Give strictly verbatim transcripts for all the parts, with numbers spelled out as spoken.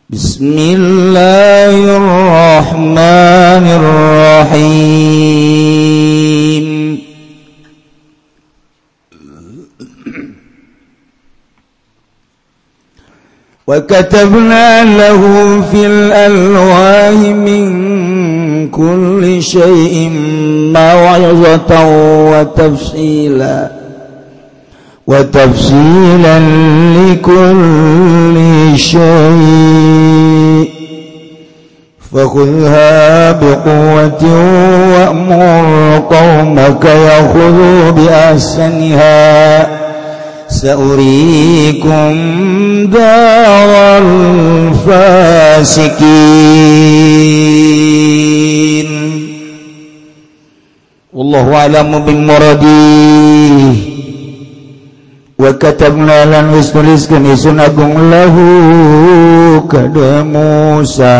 Bismillahirrahmanirrahim. Wa katabna lahu fil alwahi min kulli syai'in maw'izatan wa tafsila wa tafsilan likulli syai' fakhudha biquwwatin wa'mur qaumaka yakhudhu bi ahsaniha sa'urikum daral fasikin. Wallahu a'lamu bimuradih. Wa katabna lan wis tuliskeun isun agung lahu kada Musa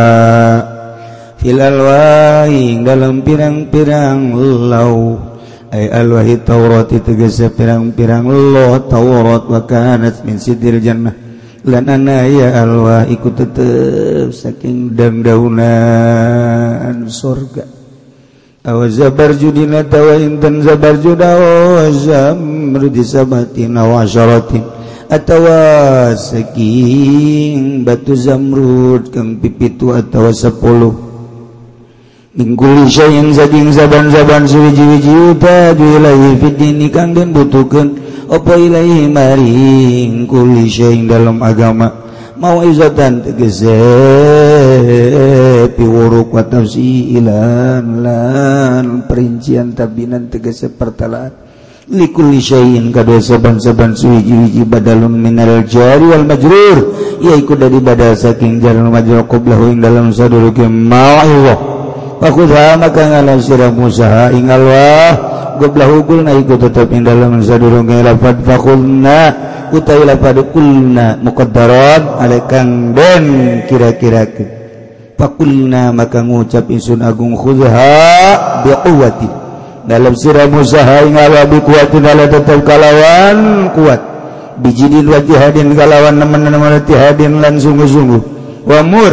fil alwahi dalam pirang-pirang law ay alwahi Taurat tegese pirang-pirang law Taurat wa kanat min sidril jannah lan ana ya alwah iku tetep saking daun-daunan surga aw zabarjudina tawa intan zabarjuda wa zamrudi sabatin wa asyaratin atawa saking batu zamrud kang pipitu atawa sepuluh mingkuli syai'in saking saban-saban suwiji-wiji utaju ilaihi fiddini kang den butuhkeun apa ilaihi maring kuli syai'in dalam agama mau'izatan tegese piwuruk wa tafsilan lan perincian tabinan tegese pertalaan likulli syai'in kadua saban-saban suwiji-wiji badalun minal jari wal majrur yaiku dari badal saking jalan majrur qablahu ing dalam saduluke mau'izah fakudha maka ngalam sirah Musa ing Allah qablahu qulna iku tetep ing dalam saduluke lafad fakhulna utai lapad kulna muqaddaran alekang den kira-kira-kira fakulna maka ngucap insun agung khudha biquwwati dalam sirah Musa ing Allah biquwwati dalam tetap kalawan kuat bijidin wa jihadin kalawan nemen-nemen jihadin lan sungguh-sungguh wa mur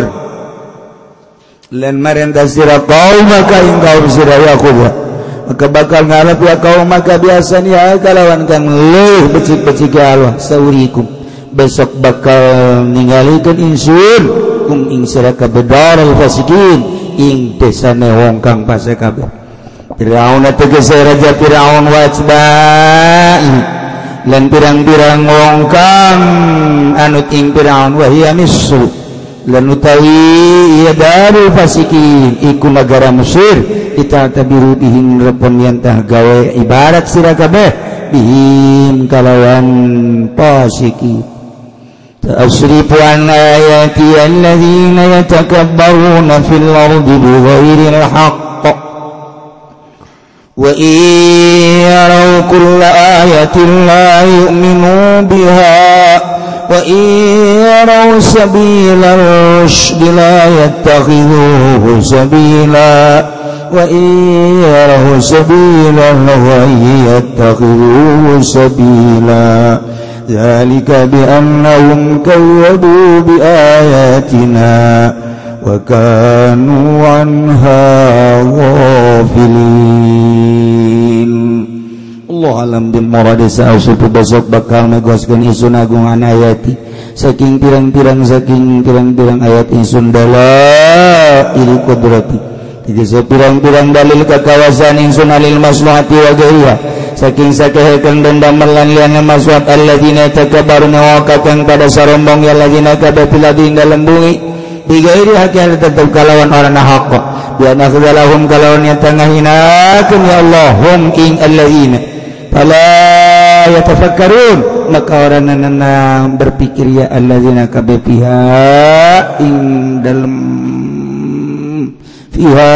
lan marenta sirah kaum maka ing kaum sirah Yakub maka bakal ngalap ya kaum maka biasanya kalawan kang leuh becik-becik Allah saurikum besok bakal ningalikeun insun kum ing sira kabeh daral fasikin ing desane wong kang fase kabeh. Firaun tegese raja Firaun wajbai lan pirang-pirang wong kang anut ing Firaun wa hiya misru lan utawi ya darul fasikin iku negara Mesir kita tabiru bihim repon yantah gawe ibarat sira kabeh bihim kalawan fasiki ta'asrifu an ayati alladhina yatakabbaruna fil ardi bighairil haqq wa iyaraw kulla ayatin la yu'minu biha wa iyaraw sabila rushdi la yattakhidhuhu sabila wa iyarahu sabila wa yattakhidhuhu sabila dzalika bi annahum kawwabu bi ayatina wa kanu anha ghafilin. Allah alam bil murad sa'usup besok bakal megoskeun isun agungan ayati saking pirang-pirang saking pirang-pirang ayat isun dala il qudrati jadi sepirang-pirang dalil kekawasan insun alil maslahati wa ghairiha saking sakehekeun dan damelan liana maslahat alladzina takabbaruna wa kakang pada sarombong ya alladzina kabapiladi dalam bumi bighairi haqqin tetep kalawan orana haqq bi anna khudalahum kalawan yang tengah hinakeun ya Allah hum ing alladzina fala yatafakkarun maka orana berpikir ya alladzina kabapiha ing dalam fiha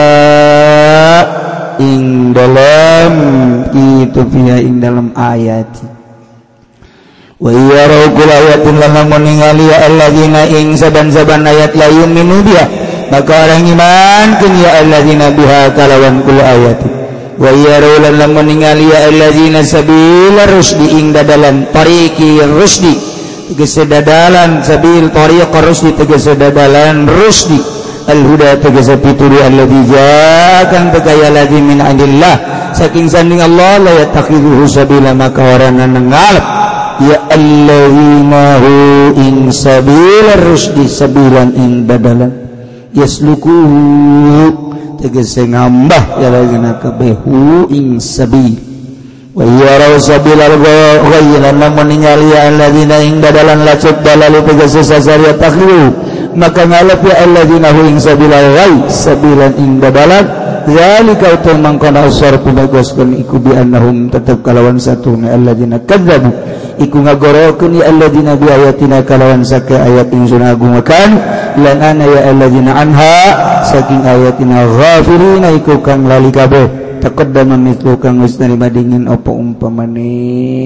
ing dalam itu fiha ing dalam ayat wa yarau kul ayatin lan ningali alladzina ing saban-saban ayat la yu'minu biha maka orang iman kun ya alladzina biha kalawan kul ayat wa yarau lan ningali alladzina sabila rusdi ing dalam tariqi rusdi tegese dadalan sabil tariq rusdi tegese dadalan rusdi al-huda tegese pituri alladzi ja'akan tegaya ladzi min indillah saking sanding Allah la yattakhidhu sabila maka warana ngalap ya alladzina hu in sabila rusdi sabilan ing dadalan yasluku tegese ngambah ya lagina kabehu ing sabil wa yarau sabilal ghayran lamun ningali alladzina ing dadalan lacuk dalalu tegese sasaria takliu maka ngalap ya alladzina hu ing sabilal ghay sabilan ing dadalan zalika utul mangkana usar pinagoskeun iku bi annahum tetep kalawan satuna alladzina kadzabu iku ngagorokeun ya alladzina bi ayatina kalawan sake ayat ingsun agungaken lan ana ya alladzina anha saking ayatina ghafilina iku kang lali kabeh taqaddama mithlu kang wis narima dingin apa umpamane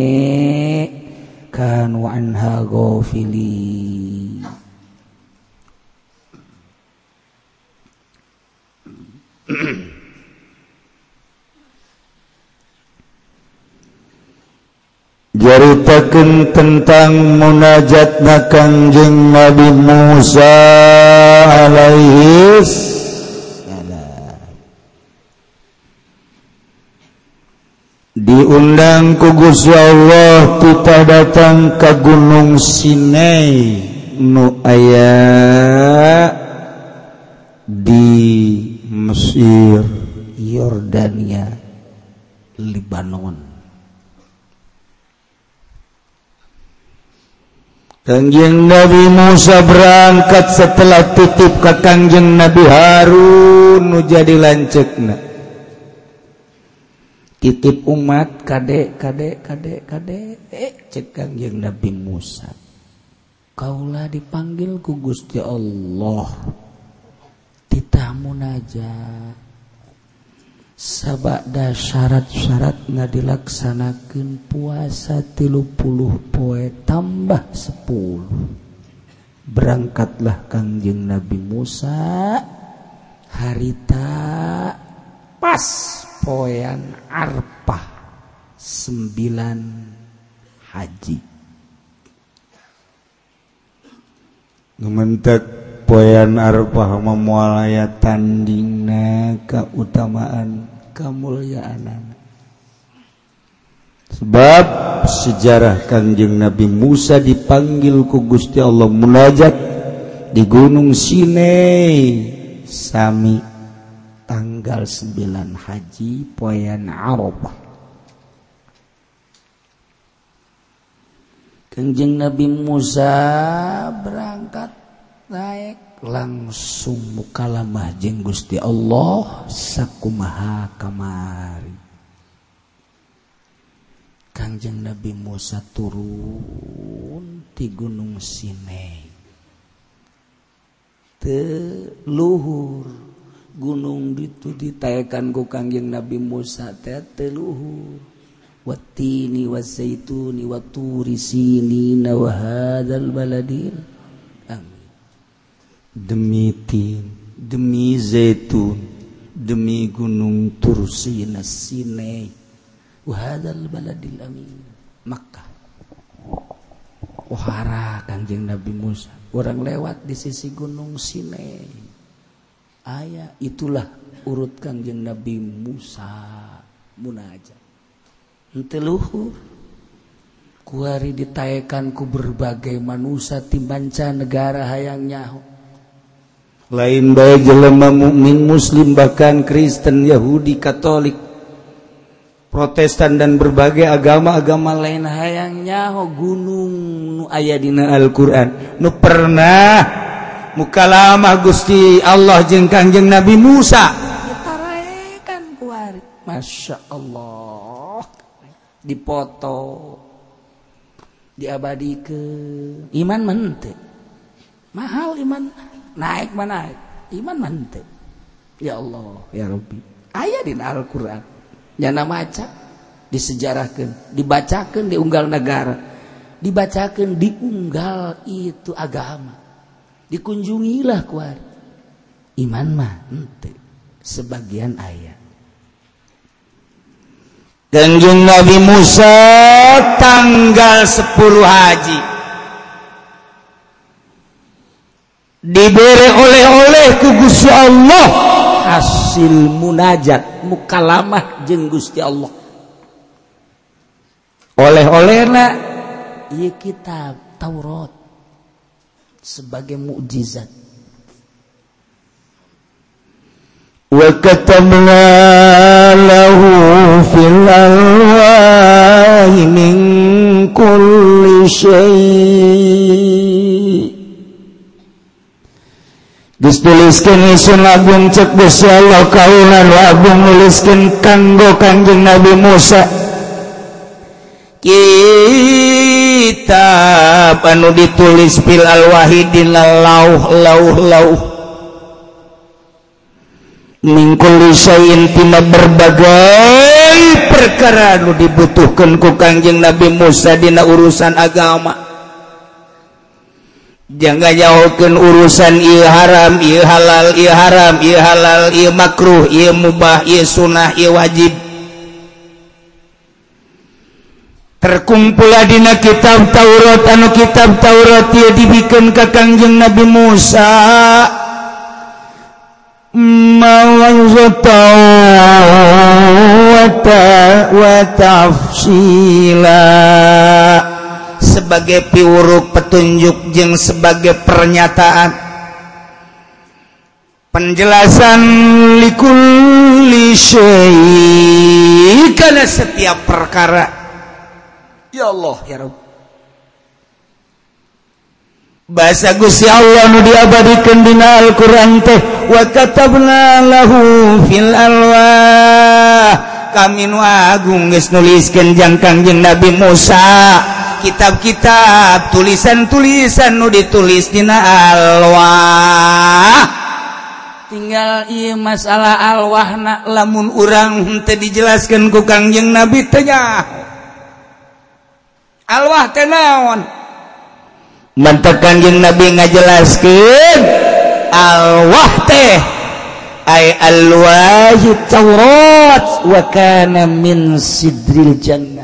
kanu anha ghafili. Jaritakeun tentang munajatna Kangjeng Nabi Musa alaihi salam diundang ku Gusti Allah kita datang ke Gunung Sinai nu aya di Mesir, Yordania, Libanon. Kangjeng Nabi Musa berangkat setelah titip ke Kangjeng Nabi Harun nu jadi lanceukna. Titip umat kade kade kade kade eh cek Kangjeng Nabi Musa. Kaulah dipanggil ku Gusti Allah. Titah munajat. Sabada syarat-syarat ngadilaksanakeun puasa tilu puluh poe tambah sepuluh. Berangkatlah Kangjeng Nabi Musa harita pas poean Arfah sembilan haji. Ngumentek poean Arfah memual aya tandingna kautamaan kamulyaan. Sebab sejarah Kangjeng Nabi Musa dipanggil ku Gusti Allah munajat di Gunung Sinai sami tanggal sembilan haji poean Arafah. Kangjeng Nabi Musa berangkat naik langsung mukalamah jeung Gusti Allah sakumaha kamari. Kangjeng Nabi Musa turun di Gunung Sinai. Teu luhur gunung ditu ditaekan ku Kangjeng Nabi Musa teh teu luhur. Wattini wazaituni waturi sinina wa hadzal baladil amin. Demi tin, demi zaitun, demi gunung Tursina Sinai, wahadal baladil amin, Makkah. Wahara Kangjeng Nabi Musa, orang lewat di sisi gunung Sinai. Aya itulah urut Kangjeng Nabi Musa munajat. Henteu luhur, kuari ditaekan ku berbagai manusia timbanca negara hayang nyaho. Lain bae jelema mukmin muslim bahkan Kristen, Yahudi, Katolik, Protestan dan berbagai agama-agama lain hayang nyaho gunung nu aya dina Al-Qur'an nu pernah mukalamah Gusti Allah jeung Kangjeng Nabi Musa ditaraekan kuari. Masya Allah, dipoto diabadikeun. Iman mente mahal, iman naik mana naik, iman mantep. Ya Allah ya Rabbi, aya dina Al-Qur'an nyana maca disejarahkeun, dibacakeun di unggal negara, dibacakeun di unggal itu agama, dikunjungilah kuari. Iman mah henteu sebagian aya. Kangjeng Nabi Musa tanggal sepuluh haji diberi oleh-oleh ku Gusti Allah hasil munajat mukalamah jeung Gusti Allah. Oleh-olehna ieu kitab Taurat sebagai mukjizat. Wa katabna lahu fil alwahi min kulli syai' dituliskeun isun agung cek Gusti Allah kaulan wa agung nuliskeun kanggo Kanjeng Nabi Musa kitab anu ditulis fil alwahi dina lauh lauh lauh min kulli syai'in tina berbagai perkara anu dibutuhkeun ku Kanjeng Nabi Musa dina urusan agama. Jangan jauhkeun urusan ieu haram, ieu halal, ieu haram, ieu halal, ieu makruh, ieu mubah, ieu sunnah, ieu wajib. Terkumpul dina kitab Taurat anu kitab Taurat ieu dibikeun ka Kanjeng Nabi Musa. Mawazata wa tafsila sebagai piuruk petunjuk jeung sebagai pernyataan penjelasan likulli syai' kana setiap perkara. Ya Allah ya Rabb, bahasa Gusti Allah nu diabadikeun dina Al-Qur'an teh wa katabna lahu fil alwah kami nu agung geus nuliskeun jang Kanjeng Nabi Musa kitab-kitab tulisan-tulisan nu ditulis dina alwah. Tinggal ieu masalah alwahna lamun urang teu dijelaskeun ku Kanjeng Nabi teh nyaho alwah teh naon. Mantap Kanjeng Nabi ngajelaskeun alwah teh ay alwahyu Taurat wa kana min sidril jannah.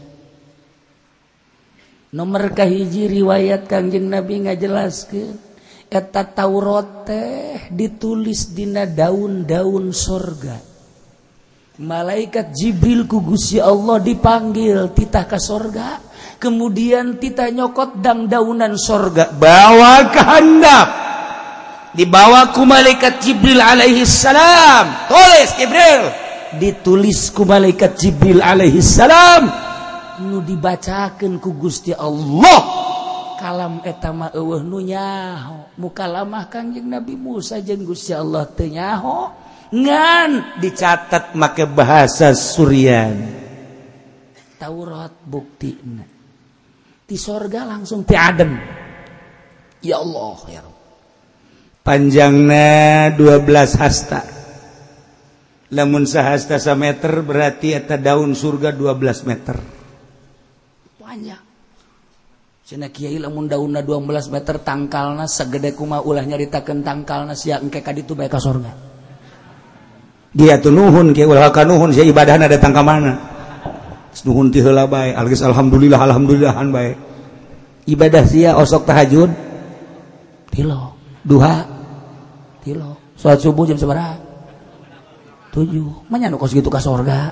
Nomor kahiji riwayat Kanjeng Nabi ngajelaskeun eta Taurat teh ditulis dina daun-daun sorga. Malaikat Jibril ku Gusti Allah dipanggil titah ka sorga, kemudian titah nyokot dang daunan sorga bawa ke handap, dibawa ku malaikat Jibril alaihi salam. Tulis Jibril, ditulis ku malaikat Jibril alaihi salam, nu dibacakeun ku Gusti Allah. Kalam eta mah eueuh nu nyaho, mukalamah Kanjeng Nabi Musa jeung Gusti Allah teu nyaho, ngan dicatat make bahasa Suryani. Taurat buktina di sorga langsung ti adem. Ya Allah ya Rabb, panjangna dua belas hasta. Lamun sahasta sameter berarti eta daun surga dua belas meter panjang. Cenah kiai lamun daunna dua belas meter tangkalna sagede kumaha ulah nyaritakeun tangkalna sia engke ka ditu bae ka sorga. Dia tuh nuhun kiai ulah ka nuhun sia ibadahna datang ka mana. Nuhun ti heula bae algeus alhamdulillah alhamdulillahan bae. Ibadah sia osok tahajud tilo, duha tilo, salat subuh jam sabaraha? tujuh. Manya nu kos kitu ka sorga.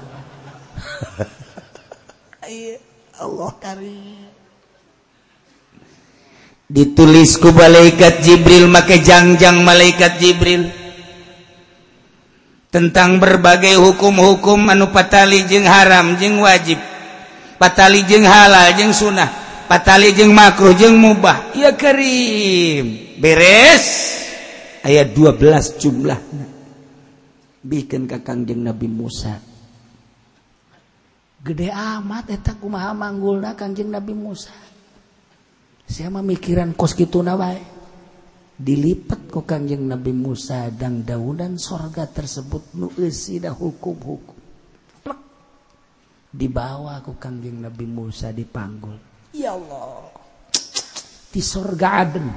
Allah karim. Ditulis ku malaikat Jibril, make jangjang malaikat Jibril tentang berbagai hukum-hukum anu patali jeung haram jeung wajib, patali jeung halal jeung sunnah, patali jeung makruh jeung mubah. Ya karim, beres aya dua belas jumlahna bikin ka Kanjeng Nabi Musa. Gede amat eta kumaha manggulna Kanjeng Nabi Musa. Saya memikiran kos kituna wae. Dilipat ku Kanjeng Nabi Musa dang daunan sorga tersebut nu eusina hukum-hukum. Plek. Dibawa ku Kanjeng Nabi Musa dipanggul. Ya Allah. Di sorga Aden.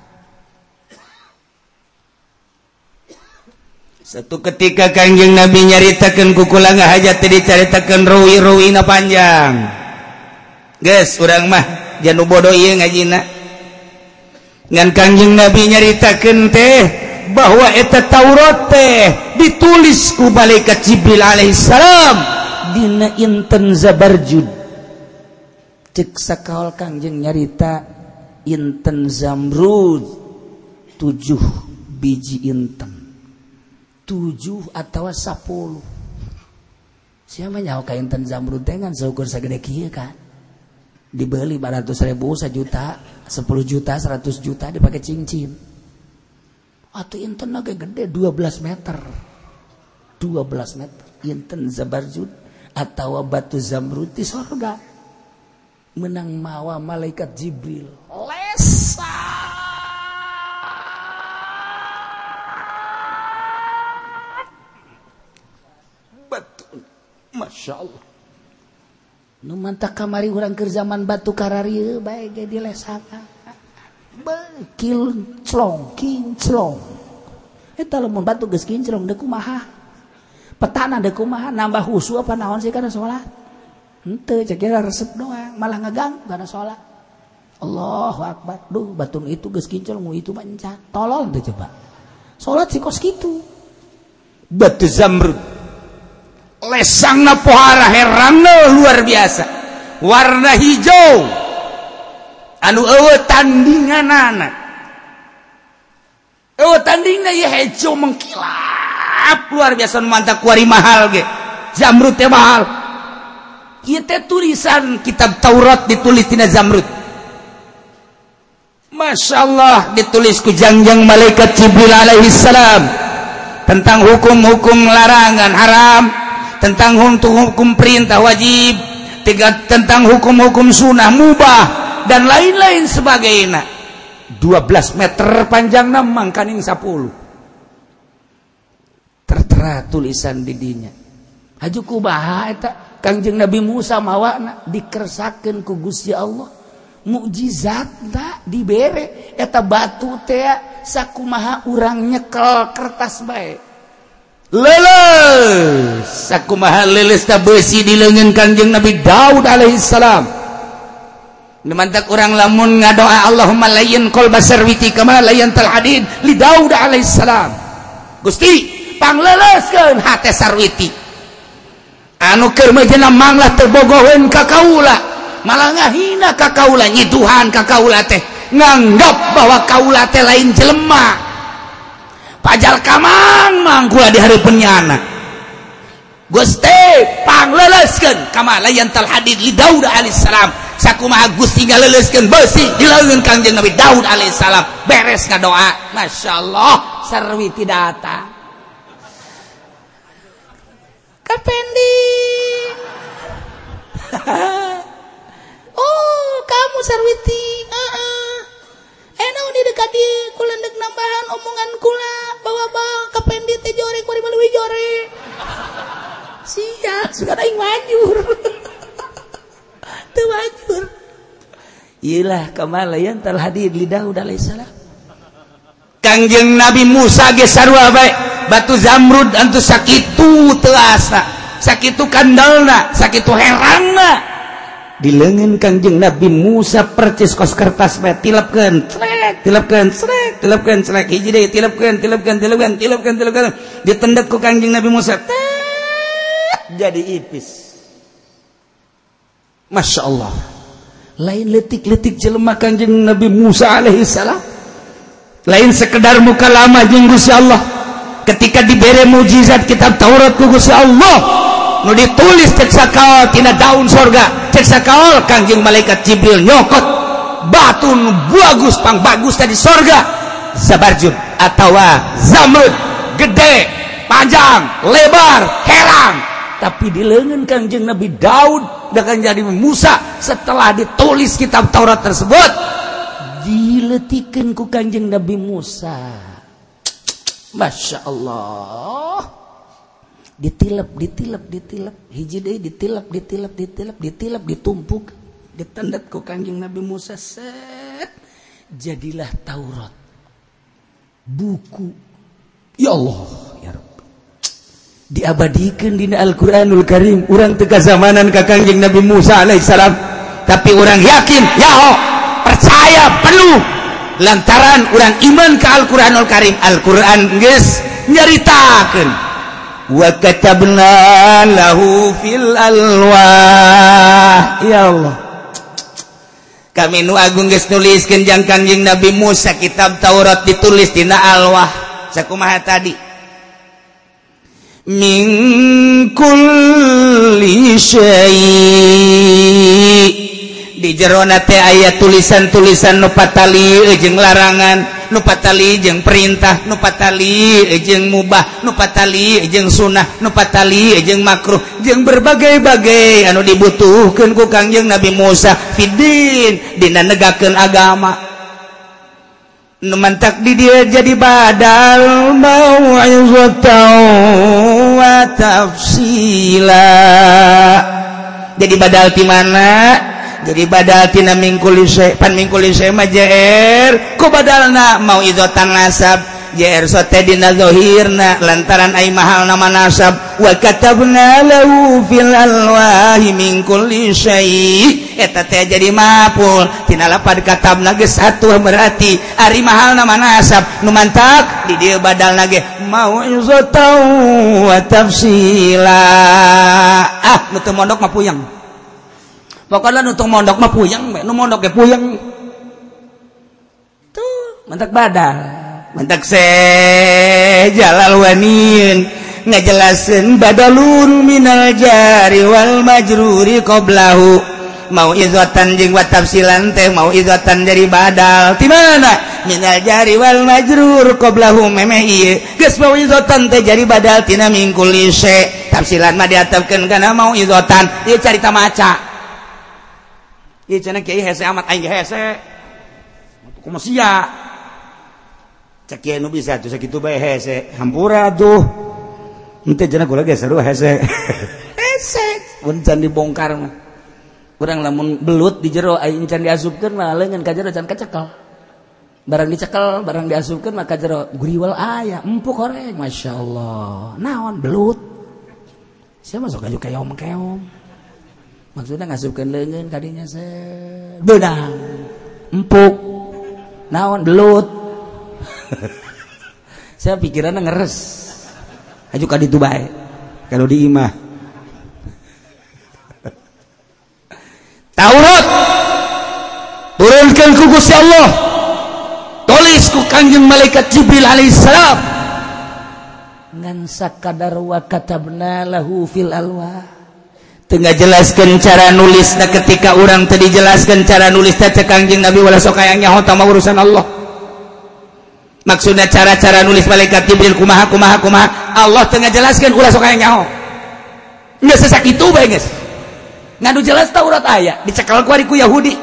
Satu ketika Kanjeng Nabi nyaritakeun ku kula ngahajat teh dicaritakeun rawi-rawina panjang. Geus urang mah janu bodoh ieu ngajina. ngan Kangjeng Nabi nyaritakeun teh bahwa eta Taurat teh ditulis ku malaikat Jibril alaihi salam dina inten Zabarjud. Cek sakaol Kangjeng nyarita inten Zamrud tujuh biji inten, tujuh atau sepuluh. Siapa nyawa ka inten Zamrud teh ngan seukur sagede kieu kan, dibeli empat ratus ribu, sejuta, sepuluh juta, seratus juta dipakai cincin. Atau inten agak gede dua belas meter, dua belas meter inten Zabarjud atau batu Zamrud di surga. Menang mawa malaikat Jibril lesa batu, masya Allah. Nu mantap kamari urang keur zaman batu kararieu bae ge dilesakan bekil clong kinclong eta lamun batu geus kinclong deuk kumaha petana deuk kumaha nambah husu apa naon sih kana salat. Henteu cek kira resep doang, malah ngeganggu karena sholat. Allahu Akbar. Duh, batu itu geus kinclong, itu mah encan. Tolol teh coba. Sholat sih kos kitu. Batu Zamrud. Lesangna pohara heranna luar biasa. Warna hijau. Anu eueuh tandinganana. Eueuh tandingna ieu hijau mengkilap luar biasa mantap kuari mahal ge. Zamrud teh mahal. Kita tulisan kitab Taurat ditulis tina Zamrud. Masya Allah ditulis ku jangjang malaikat Jibril alaihi salam tentang hukum-hukum larangan haram, tentang hukum perintah wajib, tentang hukum-hukum sunnah mubah dan lain-lain sebagainya. dua belas meter panjangna mangkaning sepuluh. Tertera tulisan di dinya. Haju kubaha eta Kangjeng Nabi Musa mawana dikersakeun ku Gusti Allah, mukjizat da dibere eta batu teh sakumaha urang nyekel kertas bae leuleus, sakumaha leuleus ta beusi di leungeun Kangjeng Nabi Daud alaihi salam. Nemantak urang lamun ngadoa Allahumma layyin qalba sarwiti kama layyantal hadid li Daud alaihi salam. Gusti pangleleuskeun hate sarwiti anu keur meujeuna manglah terbogoheun ka kaula, malah ngahina ka kaula, nyiduhan ka kaula teh nganggap bahwa kaula teh lain jelema pajal kamang mangkula di hareupeun nyana. Gusti pangleleuskeun kama layantal hadid li Daud alaihi salam, sakumaha Gusti ngaleuskeun beusi di leungeun Kangjeng Nabi Daud alaihi salam. Beres ngadoa, masyaallah sarwiti datang. Kapending. Oh, kamu Sarwiti. Heeh. Uh-uh. Enaon di dekat dieu kula ndek nambahan omongan kula bawa-bawa kapendi teh jore kuari meuli jore. Sia, suka aing wajur. Teu wajur. Iyalah kamalayan tal hadid li Daud alaihi salam. Kangjeng Nabi Musa ge sarua bae batu Zamrud antu sakitu teasa, sakitu kandalna, sakitu heranna. Di leungeun Kangjeng Nabi Musa percis kos kertas bae tilepkeun, crek, tilepkeun, crek, tilepkeun, crek, hiji deui tilepkeun, tilepkeun, tilepkeun, tilepkeun, tilepkeun. Ditendet ku Kangjeng Nabi Musa, tet, jadi ipis. Masya Allah. Lain letik-letik jelema Kangjeng Nabi Musa alaihi salam. Lain sekedar muka lama jeung Gusti Allah. Ketika dibere mukjizat kitab Taurat ku Gusti Allah, nu ditulis cek sakaol tina daun sorga, cek sakaol Kangjeng malaikat Jibril nyokot batu nu bagus pang bagus tadi sorga, Zabarjud atawa Zamrud, gede, panjang, lebar, herang. Tapi di leungeun Kangjeng Nabi Daud dan Kangjeng Nabi Musa setelah ditulis kitab Taurat tersebut diletikeun ku Kangjeng Nabi Musa. Masya Allah. Ditilep, ditilep, ditilep, hiji deui ditilep, ditilep, ditilep, ditilep, ditumpuk, ditendet ku Kangjeng Nabi Musa, set. Jadilah Taurat. Buku. Ya Allah, ya Rabbi. Diabadikeun dina Al-Qur'anul Karim. Urang teu kazamanan ka Kangjeng Nabi Musa alaihi salam, tapi urang yakin, ya Allah, percaya penuh lantaran urang iman ka Al-Qur'anul Karim. Al-Qur'an geus nyaritakeun wa katabna lahu fil alwah. Ya Allah, kami nu agung geus nuliskeun jang Kangjeng Nabi Musa kitab Taurat ditulis dina alwah. Sakumaha tadi? Min kulli syai', di jerona teh aya tulisan-tulisan nu patali jeung larangan, nu patali jeung perintah, nu patali jeung mubah, nu patali jeung sunnah, nu patali jeung makruh, jeung berbagai-bagai anu dibutuhkeun ku Kangjeng Nabi Musa fiddin dina negakeun agama. Nu mantak di dia jadi badal mau'izatan wa tafsila. Jadi badal di mana? Jadi badal tina mingkul syai' pan mingkul syai' mah jair ku badalna mau'izatan nasab jair sote dina zahirna lantaran ai mahal nama nasab. Wa katabna lahu fil alwahi min kulli syai', eta teh jadi maful tina lapad katabna geus atuh berarti ari mahal nama nasab nu mantak di dieu badalna ge mau'izatan wa tafsila. Ah nu teu mondok mah puyeng, pokoknya nu teu mondok mah puyeng, nu mondok ge puyeng tuh mantak badal. Mantak se jalal wanin ngajelaseun badalun minal jari wal majruri qablahu. Mau izatan jeung wa tafsilan teh mau izatan dari badal ti mana? Minal jari wal majrur qablahu memeh ieu geus mau izatan teh jadi badal tina min kulli syai'. Tafsilan mah diatapkeun kana mau izatan ieu carita maca. Ieu cenah kiai hese amat aing hese. Kumaha sia? Cek nu bisa tuh sakitu bae hese hampura tuh henteu cenah kula ge seru hese hese mun can dibongkar mah urang lamun belut di jero aing can diasupkeun mah leungeun ka jero can kacekel barang dicekel barang diasupkeun mah ka jero guriwal aya empuk horeng masyaallah. Naon belut sia masuk aju keong-keong maksudna ngasupkeun leungeun ka dinya se beunang empuk naon belut. Saya pikirannya ngeres aju ka ditu bae kalau di imah. Taurat turunkeun ku Gusti Allah, tulis ku Kangjeng malaikat Jibril alaihissalam ngan sakadar wa katabna lahu fil alwah. Teu ngajelaskeun cara nulisna ketika urang teu dijelaskeun cara nulisna teh Kangjeng Nabi wala sok aya nyaho tah urusan Allah. Maksudnya cara-cara nulis malaikat Jibril kumaha kumaha kumaha Allah tengah jelaskan ulah sok aya nyaho geus sakitu bae geus nganu jelas Taurat aya dicekal ku ari ku Yahudi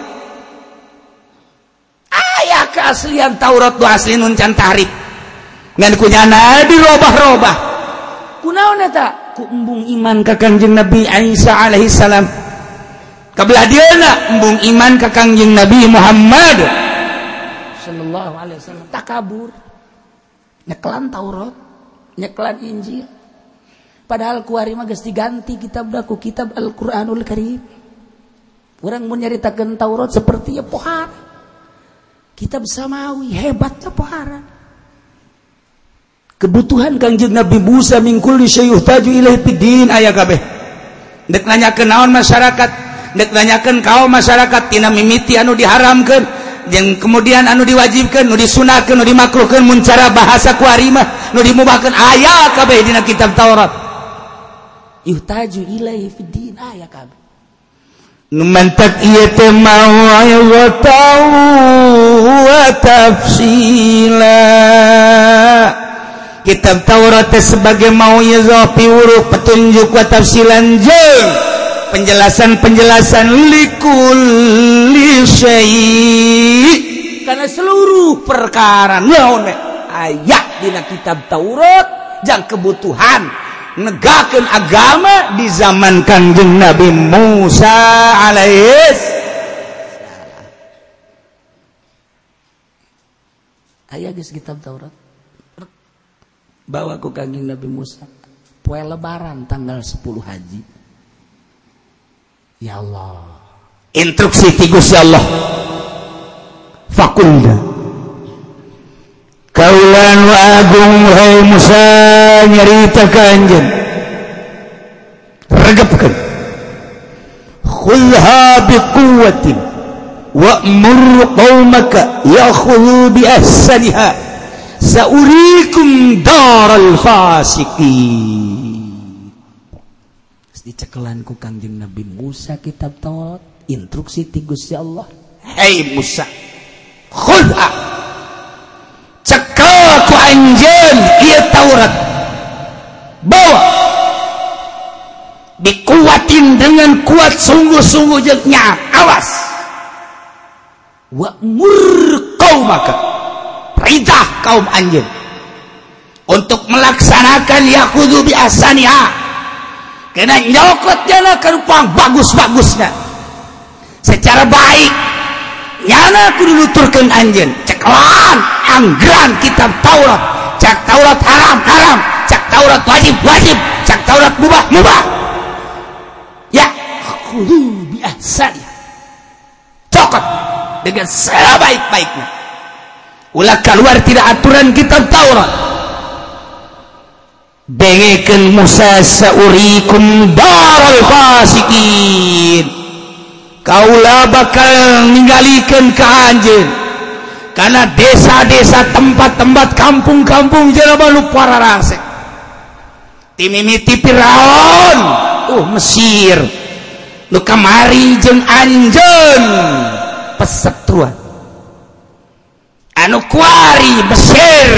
aya keaslian Taurat do asli nun can tahrif ngan kunyana dirobah-robah kunaon eta ku embung iman ka Kangjeng Nabi Isa alaihi salam kabelah dieuna embung iman ka Kangjeng Nabi Muhammad sallallahu alaihi wasallam takabur nyekelan Taurat nyekelan Injil padahal kuari mah geus diganti kitab da ku kitab Al-Qur'anul Karim. Urang mun nyaritakeun Taurat seperti ya pohara kitab samawi hebatnya pohara. Kebutuhan Kangjeng Nabi Musa min kulli syai' yuhtaju ilaihi fiddin aya kabeh. Dek nanyakeun naon masyarakat, dek nanyakeun kaum masyarakat tina mimiti anu diharamkeun yang kemudian anu diwajibkan, nu disunahkan, nu dimakruhkan, mun cara bahasa kuari mah nu dimubahkeun aya kabeh dina kitab Taurat. Yuhtaju ilaihi fiddin aya kabeh. Nu mantak ieu teh mau'izatan wa tafsila. Kitab Taurat teh sebagai mau'izah piwuruh petunjuk wa tafsilan jeung penjelasan-penjelasan likulli syai' karena seluruh perkara naon aya dina kitab Taurat jang kebutuhan negakeun agama di zaman Kangjeng Nabi Musa alaihis aya geus kitab Taurat bawa ku Kangjeng Nabi Musa poe lebaran tanggal sepuluh Haji. Ya Allah, instruksi ti Gusti Allah. Fakulna anu agung wahai Musa nyarita ka anjeun regepkeun khulha biquwwatin wa'mur qaumaka yakhudhu bi ahsaniha saurikum daral fasiqin. Dicekelan ku Kangjeng Nabi Musa kitab Taurat, instruksi ti Gusti Allah, hei Musa khulha cekel ku anjeun ieu Taurat, bawa dikuatin dengan kuat sungguh-sungguh jeung nyaat, awas wa'mur qaumaka perintah kaum anjeun untuk melaksanakan yakhudhu bi ahsaniha kena nyokot jana karupang bagus-bagusna secara baik nyana kudu nuturkeun anjeun cekelan anggeran kitab Taurat, cak Taurat haram-haram, cak Taurat wajib-wajib, cak Taurat mubah-mubah, ya khudhu bi ahsaniha cokot dengan sebaik-baiknya. Ulah keluar tidak aturan kitab Taurat. Dengekeun Musa saurikum daral fasiqin. Kaula bakal ninggalikeun ka anjeun kana desa-desa tempat-tempat kampung-kampung jelema nu pararasek. Ti mimiti Firaun, uh Mesir. Nu kamari jeung anjeun pesetruan anu kuari Mesir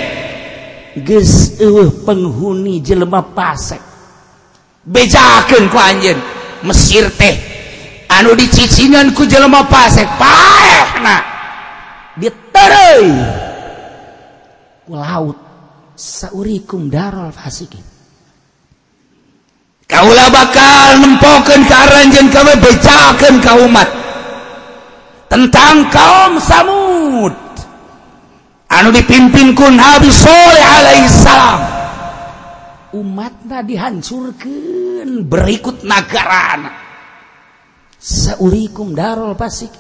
geus eueuh penghuni jelema pasek bejakeun ku anjeun Mesir teh anu dicicingan ku jelema pasek paehna ditereuy ku laut saurikum daral fasikin. Kaula bakal nempokeun ka aranjeun kawe bejakeun ka umat tentang kaum Samud anu dipimpin ku Nabi Saleh alaihi salam. Umatna dihancurkeun berikut nagarana saurikum darul fasik.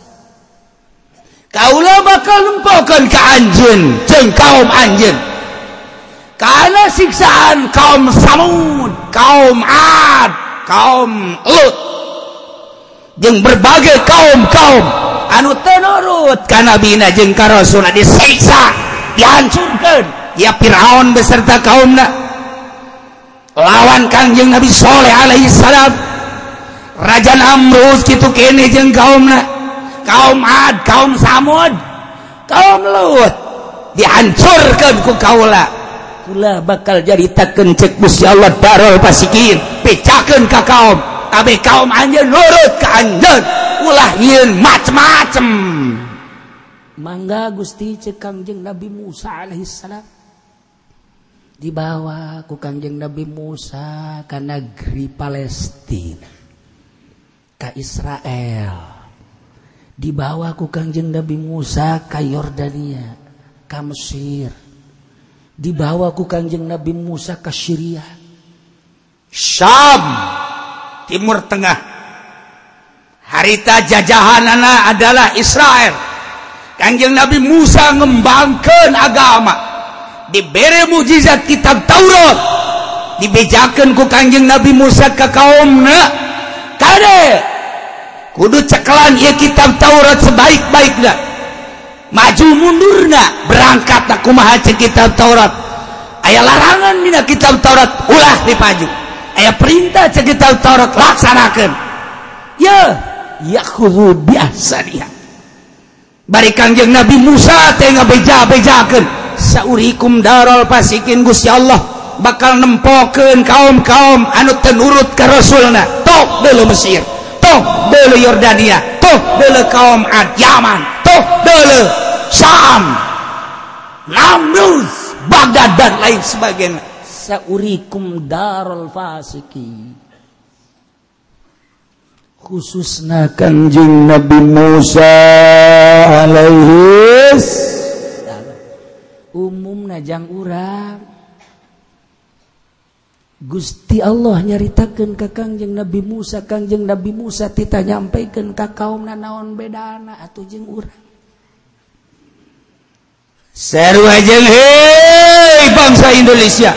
Kaula bakal nempokeun ka anjeun jeung kaum anjeun kana siksaan kaum Samud, kaum Ad, kaum Lut jeung berbagai kaum-kaum anu teu nurut ka nabina jeung ka rasulna disiksa, dihancurkeun ya Firaun beserta kaumna lawan Kangjeng Nabi Saleh alaihi salam. Raja Namrud kitu kene jeung kaumna, kaum Ad, kaum Samud, kaum Lut dihancurkeun ku kaula. Kula bakal jaritakeun cek Gusti Allah darul fasikin, pecakeun ka kaum kabeh kaum anjeun nurut ka anjeun, ulah nyieun macem-macem. Mangga Gusti cek Kangjeng Nabi Musa alaihi salam dibawa ku Kangjeng Nabi Musa ka negeri Palestina, ka Israel, dibawa ku Kangjeng Nabi Musa ka Yordania, ka Mesir, dibawa ku Kangjeng Nabi Musa ka Syria, Syam, Timur Tengah. Harita jajahanana adalah Israel. Kangjeng Nabi Musa ngembangkeun agama, dibere mukjizat kitab Taurat, dibejakeun ku Kangjeng Nabi Musa ka kaumna, kade kudu cekelan ieu kitab Taurat sebaik-baikna, maju mundurna berangkat kumaha cek kitab Taurat. Aya larangan dina kitab Taurat ulah dipaju, aya perintah cek kitab Taurat laksanakeun. Ya yakhudhu bi ahsaniha. Bari Kangjeng Nabi Musa teh ngabeja-bejakeun saurikum darul fasikin. Gusti Allah bakal nempokeun kaum-kaum anu teu nurut ka rasulna, tok deuleu Mesir, tok deuleu Yordania, tok deuleu kaum Ad Yaman, tok deuleu Syam, Namrud, Baghdad dan lain sebagainya. Saurikum darul fasikin. Khususna Kangjeng Nabi Musa alaihi salam. Umumna jang urang Gusti Allah nyaritakeun ka Kangjeng Nabi Musa, Kangjeng Nabi Musa tita nyampaikeun ka kaumna naon bedana atuh jeung urang. seru ajeng hei bangsa Indonesia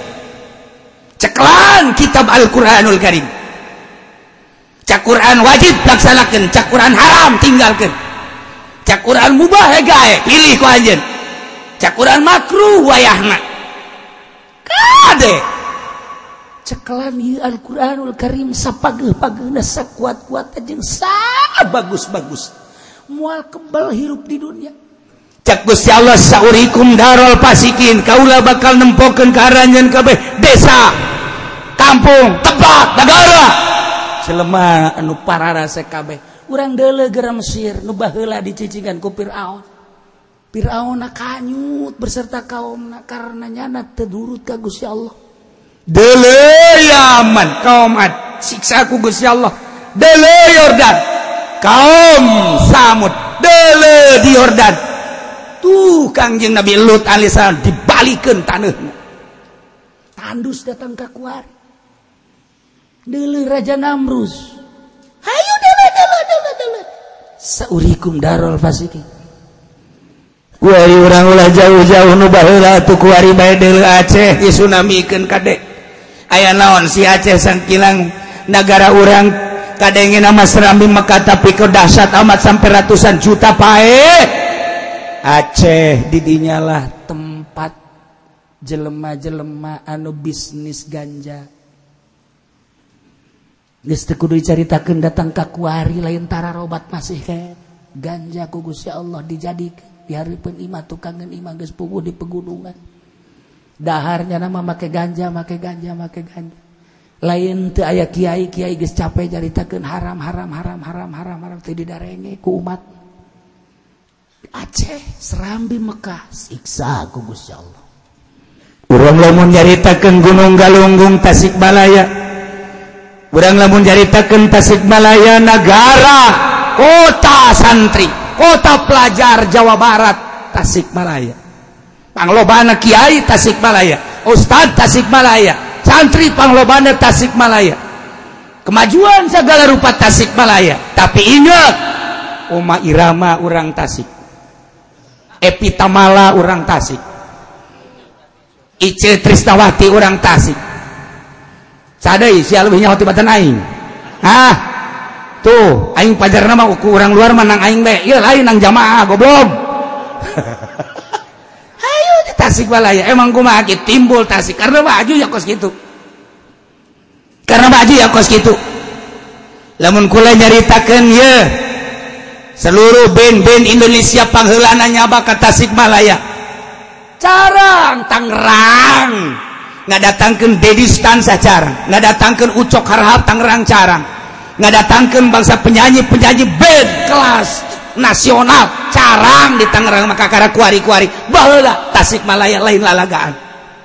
ceklan kitab Al-Quranul Karim cak Quran wajib laksanakan cak Quran haram tinggalkan cak Quran mubah gae pilih ku anjeun cak Quran makruh wayahna kade ceklan ieu Al-Quranul Karim sapageuh-pageuna sakuat-kuat jeung sabagus-bagus moal kebal hirup di dunia cak Gusti Allah saurikum darul fasikin kaula bakal nempokeun ka aranjeun kabeh desa kampung tebak negara jelema anu pararase kabeh urang deuleu gara Mesir nu baheula dicicingan ku Firaun Firaun kanyut berserta kaumna karena nyana teu durut ka Gusti Allah deuleu Yaman kaum Ad siksa ku Gusti Allah deuleu Yordan kaum Samud deuleu di Yordan tuh Kangjeng Nabi Lut alaihissalam dibalikeun taneuhna tandus datang ka kuari deuleu Raja Namrus hayu deuleu deuleu deuleu deuleu saurikum darul fasikin kuari urang ulah jauh-jauh nu baheula atuh kuari bae deuleu Aceh disunamikeun kade aya naon si Aceh sangkilang negara urang kadengena mah Serambi Mekah tapi keu dahsyat amat sampai ratusan juta pae Aceh didinya lah tempat jelema-jelema anu bisnis ganja geus teu kudu dicaritakeun datang ka kuari lain tara robat masih kae ganja ku Gusti Allah dijadikeun dihareupeun imah tukangan imah geus puguh di pegunungan daharnya nama make ganja make ganja make ganja lain teu aya kiai-kiai geus capek caritakeun haram haram haram haram haram haram teu didarenge ku umat Aceh Serambi Mekah siksa ku Gusti Allah urang lamun nyaritakeun Gunung Galunggung Tasikmalaya urang lamun nyaritakeun Tasikmalaya negara kota santri kota pelajar Jawa Barat Tasikmalaya panglobana kiai Tasikmalaya ustad Tasikmalaya santri panglobana Tasikmalaya kemajuan segala rupa Tasikmalaya tapi ingat Oma Irama urang Tasik Epitamala urang Tasik Ice Trisnawati urang Tasik sadai sia leuwih nyaho tibatan aing ah tuh aing pajarna mah ku urang luar menang aing bae ieu lain nang jamaah goblok ayo di Tasikmalaya emang kumaha kitu timbul Tasik karena baju ya kos kitu karena baju ya kos kitu lamun kula nyaritakeun ye seluruh band-band Indonesia pangheulana nyaba ka Tasikmalaya carang Tangerang ngadatangkeun Dedi Stansa carang ngadatangkeun Ucok Harhab Tangerang carang ngadatangkeun bangsa penyanyi-penyanyi band kelas nasional carang di Tangerang maka kara kuari-kuari baheula Tasikmalaya lain lalagaan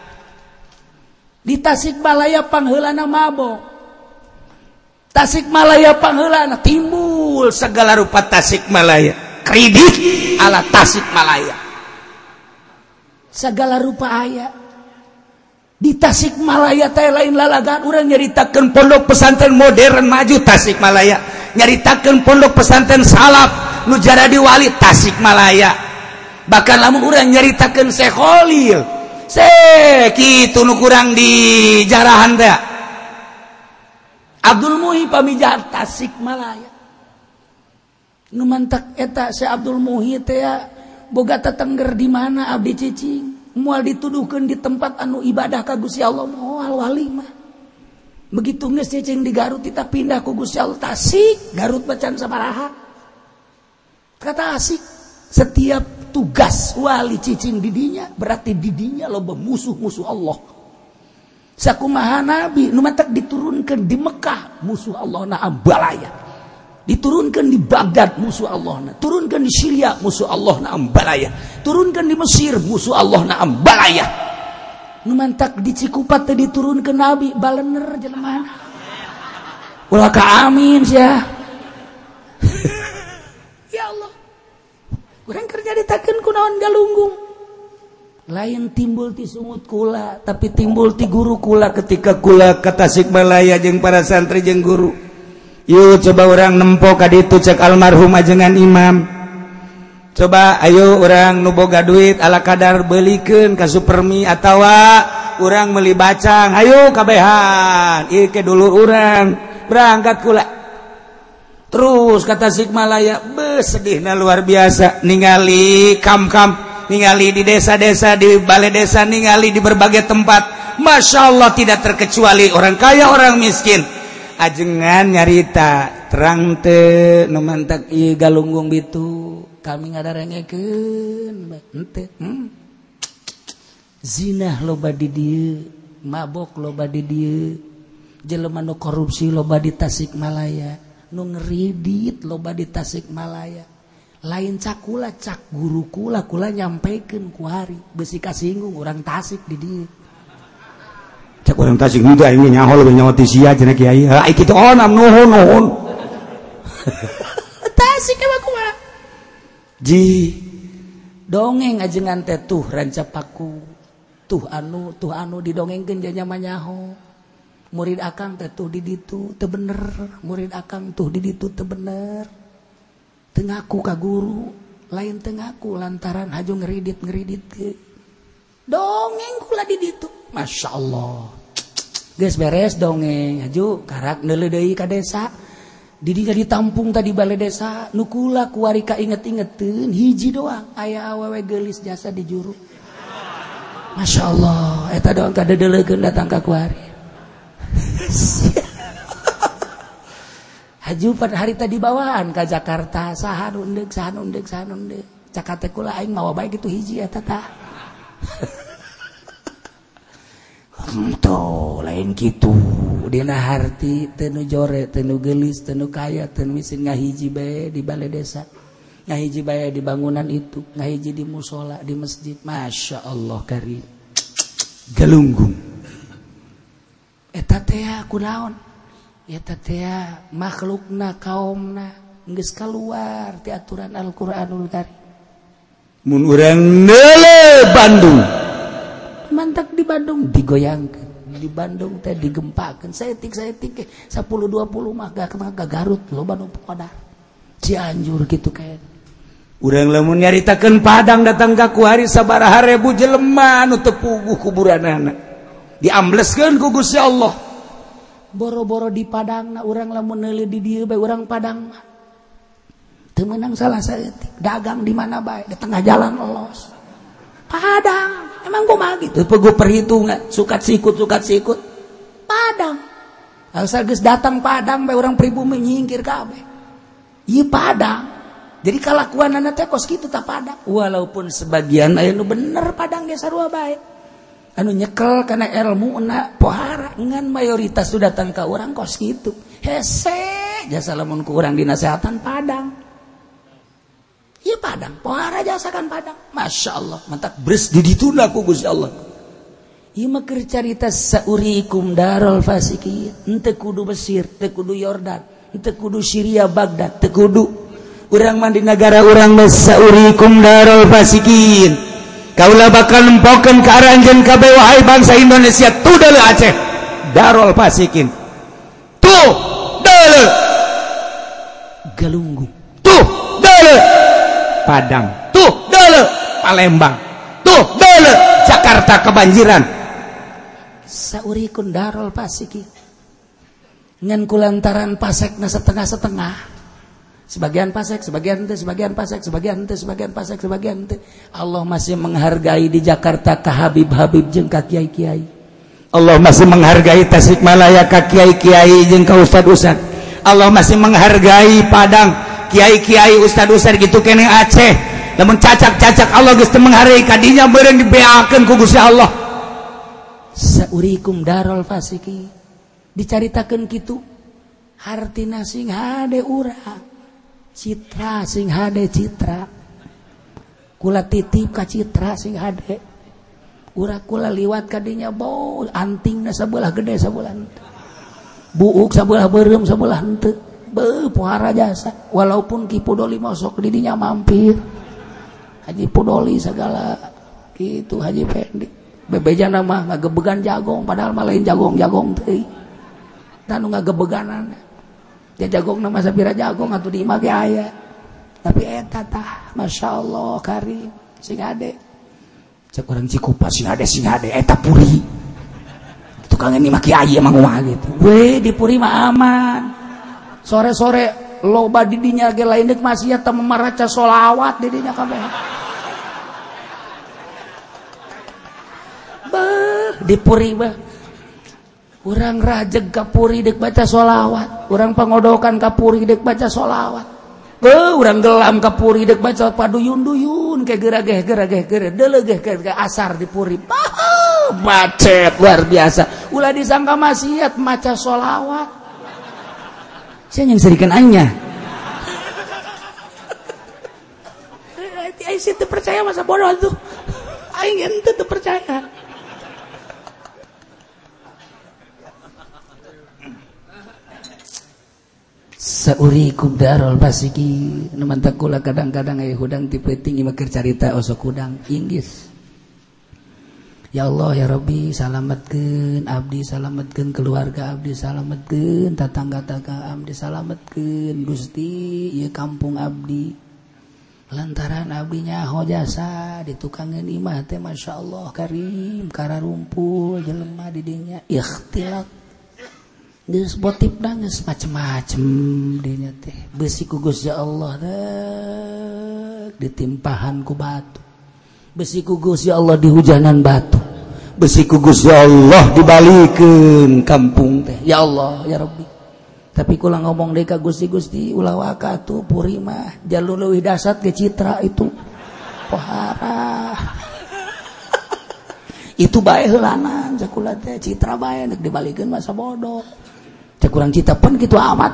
di Tasikmalaya pangheulana mabok Tasikmalaya pangheulana timbul segala rupa Tasikmalaya kredit ala Tasikmalaya segala rupa aya di Tasikmalaya teh lain lalagaan urang nyaritakeun pondok pesantren modern maju Tasikmalaya nyaritakeun pondok pesantren salaf nu jadi wali Tasikmalaya bahkan lamun urang nyaritakeun Syekh Khalil Syekh kitu nu kurang di jarahan teh Abdul Muhi pamijahan Tasikmalaya nu mantak eta Syekh Abdul Muhi teh boga tetengger di mana abdi cicing moal dituduhkeun di tempat anu ibadah ka Gusti Allah moal wali mah begitu geus cicing di Garut kita pindah ku Gusti Allah Tasik Garut bacan sabaraha kata asik setiap tugas wali cicing didinya berarti didinya loba musuh-musuh Allah sakumaha nabi nu matak diturunkeun di Mekah musuh Allah na ambalaya diturunkan di Baghdad musuh Allah na turunkan di Syria musuh Allah na ambalaya turunkan di Mesir musuh Allah na ambalaya nu mantak di Cikupat teh diturunkeun nabi balener jelema ulah ka amin sia ya Allah urang kerja ditakeun ku naon Galunggung lain timbul ti sungut kula tapi timbul ti guru kula ketika kula ka Tasikmalaya jeung para santri jeung guru yuk coba orang nempo ka ditu cek almarhum ajengan imam Coba ayo orang nuboga duit ala kadar belikeun ka Supermi atawa urang meuli bacang, ayo kabehan ieu ke dulur urang berangkat kula terus ka Tasikmalaya. Beus sedihna luar biasa ningali kam-kam, ningali di desa-desa, di balai desa, ningali di berbagai tempat. Masya Allah tidak terkecuali orang kaya orang miskin ajengan nyarita terang teu nu mantak ieu galunggung bitu kami ngadarengekeun henteu hmm. Zina loba di dieu, mabok loba di dieu, jelema nu korupsi loba di Tasikmalaya, nu ngeridit loba di Tasikmalaya. Lain cakula cak guru kula kula nyampaikeun ku hari beusi kasinggung urang Tasik di dieu. Cak urang Tasik nu teh aing nyaho leuwih nyaho ti sia cenah kiai. Ai kitu onam nuhun nuhun. Tasik mah kumaha? Ji dongeng ajengan teh tuh rancapaku tuh anu tuh anu didongengkeun nya manyaho murid akang teh tuh di ditu teu bener, murid akang tuh di ditu teu bener, teu ngaku ka guru, lain teu ngaku lantaran haju ngeridit-ngeridit ke dongeng kula di ditu. Masya Allah geus beres dongeng haju karak neuleuh deui ka desa. Didinya ditampung tadi balai desa nukula kuari ka inget-ingeteun hiji doang aya awewe geulis jasa di juru. Masya Allah eta doang kadedelekeun datang ka kuari. Haju pada hari tadi bawaan ka Jakarta saha nu endeg saha nu endeg saha nu endeg cak teh kula aing mawa bae kitu hiji eta tah. Tuh lain gitu dina harti teu nu jore teu nu geulis teu nu kaya teu miskin ngahiji bae di balai desa, ngahiji bae di bangunan itu, ngahiji di musola di masjid. Masya Allah karim galunggung eta teh kunaon eta teh makhlukna kaumna geus kaluar ti aturan Al-Qur'anul Karim. Mun urang neule Bandung mantak di Bandung digoyangkeun, di Bandung teh digempakeun, saeutik-saeutik sepuluh dua puluh mah gak ke Garut loba nu podar. Cianjur kitu kae. Urang lamun nyaritakeun Padang datang ka kuari sabaraha ribu jelema nu teu puguh kuburanana. Diambleskeun ku Gusti Allah. Boro-boro di Padangna urang lamun neuleuh di dieu bae urang Padang mah teu meunang salah saeutik, dagang di mana bae, di tengah jalan lolos. Padang, emang kumaha gitu? Pegu perhitungan, sukat sikut, sukat sikut. Padang. Asal geus datang Padang bae urang pribumi nyingkir kabeh. Ieu Padang. Jadi kalakuanana teh kos kitu tah Padang. Walaupun sebagian aya nu bener Padang ge sarua bae. Anu nyekel kana ilmuna pohara ngan mayoritas sudah datang ka urang kos kitu. Hese, jasa lamun ku urang dinasehatan Padang. Iya Padang, pohara jasakan Padang. Masya Allah, mantap beres didituna ku Gusti Allah. Iya mah keur carita saurikum darul fasikin. Henteu kudu Mesir, teu kudu Yordan, henteu kudu Syria Baghdad, teu kudu. Urang mah di negara urang mah saurikum darul fasikin. Kaula bakal nempokeun ka aranjeun kabeh wahai bangsa Indonesia tuh deuleu Aceh. Darul fasikin. Tuh deuleu Galunggung. Tuh deuleu Padang, tuh deuleu Palembang, tuh deuleu Jakarta kebanjiran. Saurikeun darul fasikin. Ngan kulantaran pasekna setengah-setengah. Sebagian pasek, sebagian teu, sebagian pasek, sebagian teu, sebagian pasek, sebagian teu. Allah masih menghargai di Jakarta ka Habib-habib jeung ka kiai-kiai. Allah masih menghargai Tasikmalaya ka kiai-kiai jeung ka ustad-ustad. Allah masih menghargai Padang kiai-kiai ustad-ustad gitu kene Aceh. Lamun cacak-cacak Allah geus teu menghargai kadinya beureung dibeakeun ku Gusti Allah. Saurikum darul fasiki. Dicaritakeun kitu. Hartina sing hade urang. Citra sing hade citra. Kula titip ka citra sing hade. Urang kula liwat kadinya bau antingna sabelah gede sabelah henteu. Buuk sabelah beureum sabelah henteu. Be pohara jasa walaupun Ki Pudoli masuk di dinya mampir Haji Pudoli segala gitu Haji Pendi bebejan mah ngagebegan jagong padahal mah lain jagong-jagong teh tanu ngagebeganan ya jagong nama sapira jagong atuh di imah ge aya tapi eta tah Masya Allah karim sing ade cek orang Cikupa sing ade sing ade eta puri tukang ini maki ayi emang umah gitu weh di puri mah aman sore-sore loba didinya ge lain deuk maksiat teu memaraca sholawat didinya kabeh beuh di puri bah urang rajeg ka puri deuk baca sholawat urang pangodokan ka puri deuk baca sholawat beuh urang gelam ka puri deuk baca paduyun-duyun ke gerageh gerageh gerageh deuleugeh ke asar di puri bah macet luar biasa ulah disangka maksiat maca sholawat saya yang serikan aingnya aing sih teu percaya masa bodoh tuh aing ente teu percaya saurikum darul basiki numantakula kadang-kadang aya hudang ti peuting ieu keur carita osok hudang inggis ya Allah ya Rabbi salametkeun abdi salametkeun keluarga abdi salametkeun tatangga-tangga abdi salametkeun Gusti ieu kampung abdi lantaran abdi nyaho jasa di tukangeun imah teh masyaallah karim kararumpul jelema di dinya ikhtilat geus botip geus macem-macem dinya teh besi ku Gusti Allah deuk ditimpahan ku batu besi ku Gusti Allah dihujanan batu besi ku Gusti Allah dibalikeun kampung teh ya Allah ya Rabbi tapi kula ngomong deui ka Gusti-Gusti ulah waka atuh puri mah jalur leuwih dasar ke citra itu pohara itu bae heulanan sakula teh citra bae neuk dibalikeun masa bodoh cek urang cita pun kitu amat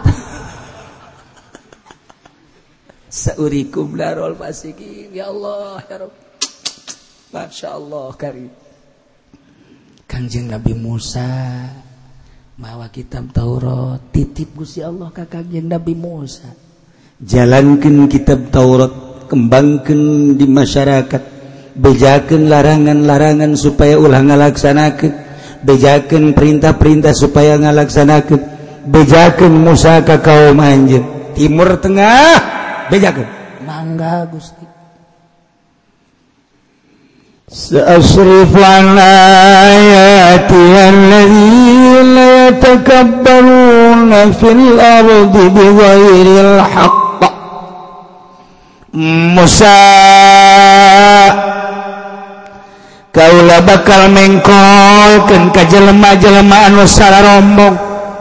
saurikum darul fasikin ya Allah ya Rabb Masya Allah karim Kanjeng Nabi Musa mawa kitab Taurat titip Gusti Allah ka Kanjeng Nabi Musa jalankeun kitab Taurat kembangkeun di masyarakat bejakeun larangan-larangan supaya ulah ngalaksanakeun bejakeun perintah-perintah supaya ngalaksanakeun bejakeun Musa ka kaum anjeun timur tengah bejakeun mangga Gusti سأصرف عن آياتي الذين يتكبرون في الأرض بغير الحق Musa kaula bakal mengkolkeun ka jelema-jelema anu sararombong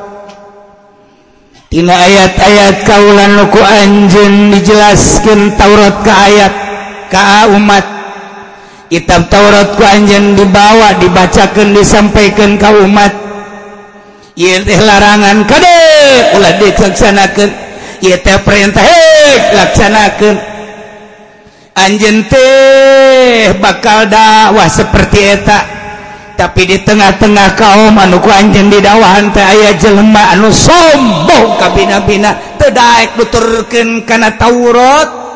tina ayat-ayat kaula nu ku anjeun dijelaskeun Taurat ka ayat ka umat kitab Taurat ku anjeun dibawa dibacakeun disampaikan ka umat ieu teh larangan kade ulah dilaksanakeun ieu teh perintah heuh laksanakeun anjeun teh bakal dakwah seperti eta tapi di tengah-tengah kaum anu ku anjeun didakwahan teh aya jelema anu sombong ka bina-bina teu daek nuturkeun kana Taurat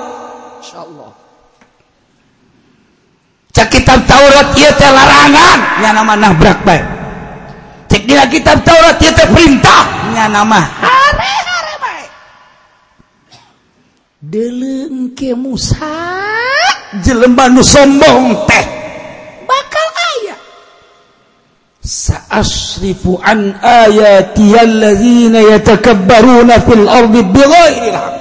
cak kitab Taurat ieu teh larangan nya nama nabrak bae cek dina kitab Taurat ieu teh perintah nya nama hare-hare bae deuleu ke Musa jelema nu sombong teh bakal aya sa'asrifu an ayati allazina yatakabbaruna fil ardi bighairi haq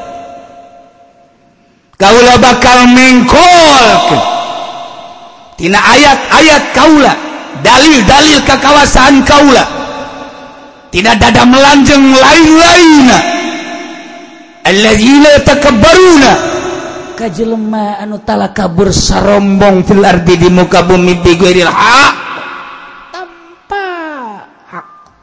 kaula bakal mengkolkeun tina ayat-ayat kaula dalil-dalil kekawasan kaula tidak dada melanjeng lain-lainna allazina takabbaruna kajelema anu talakabur sarombong fil ardi di muka bumi bi ghairil haq tanpa hak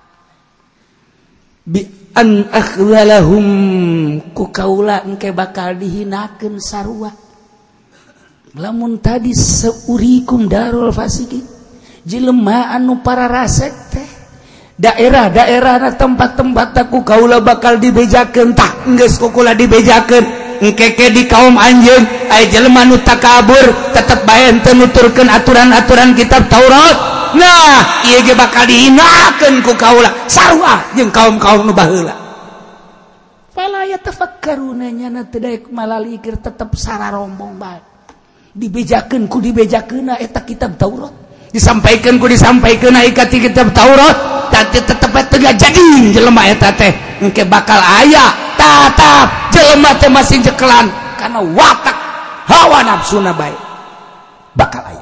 bi an akhdhalahum ku kaula engke bakal dihinakeun sarua lamun tadi seurikum darul fasikin jelema anu para rasek teh daerah-daerah tempat-tempat aku kaula bakal dibejakeun tah geus kukula dibejakeun engke-ke di kaum anjeun aya jelema nu takabur tetep bae teu nuturkeun aturan-aturan kitab Taurat nah ieu ge bakal dihinakeun ku kaula sarua jeung kaum-kaum nu baheula fala yatafakkaruna nyana teu daek malalikir tetep sararombong bae dibejakeun ku dibejakeunna eta kitab Taurat disampaikeun ku disampaikeunna ka kitab Taurat tapi tetep teu jadi jelema eta teh engke bakal aya tatap jelema teh masih jekelan kana watak hawa nafsuna bae bakal aya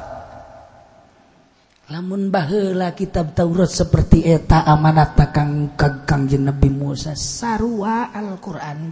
lamun baheula kitab Taurat seperti eta amanat kang Kangjeng Nabi Musa sarua Al-Qur'an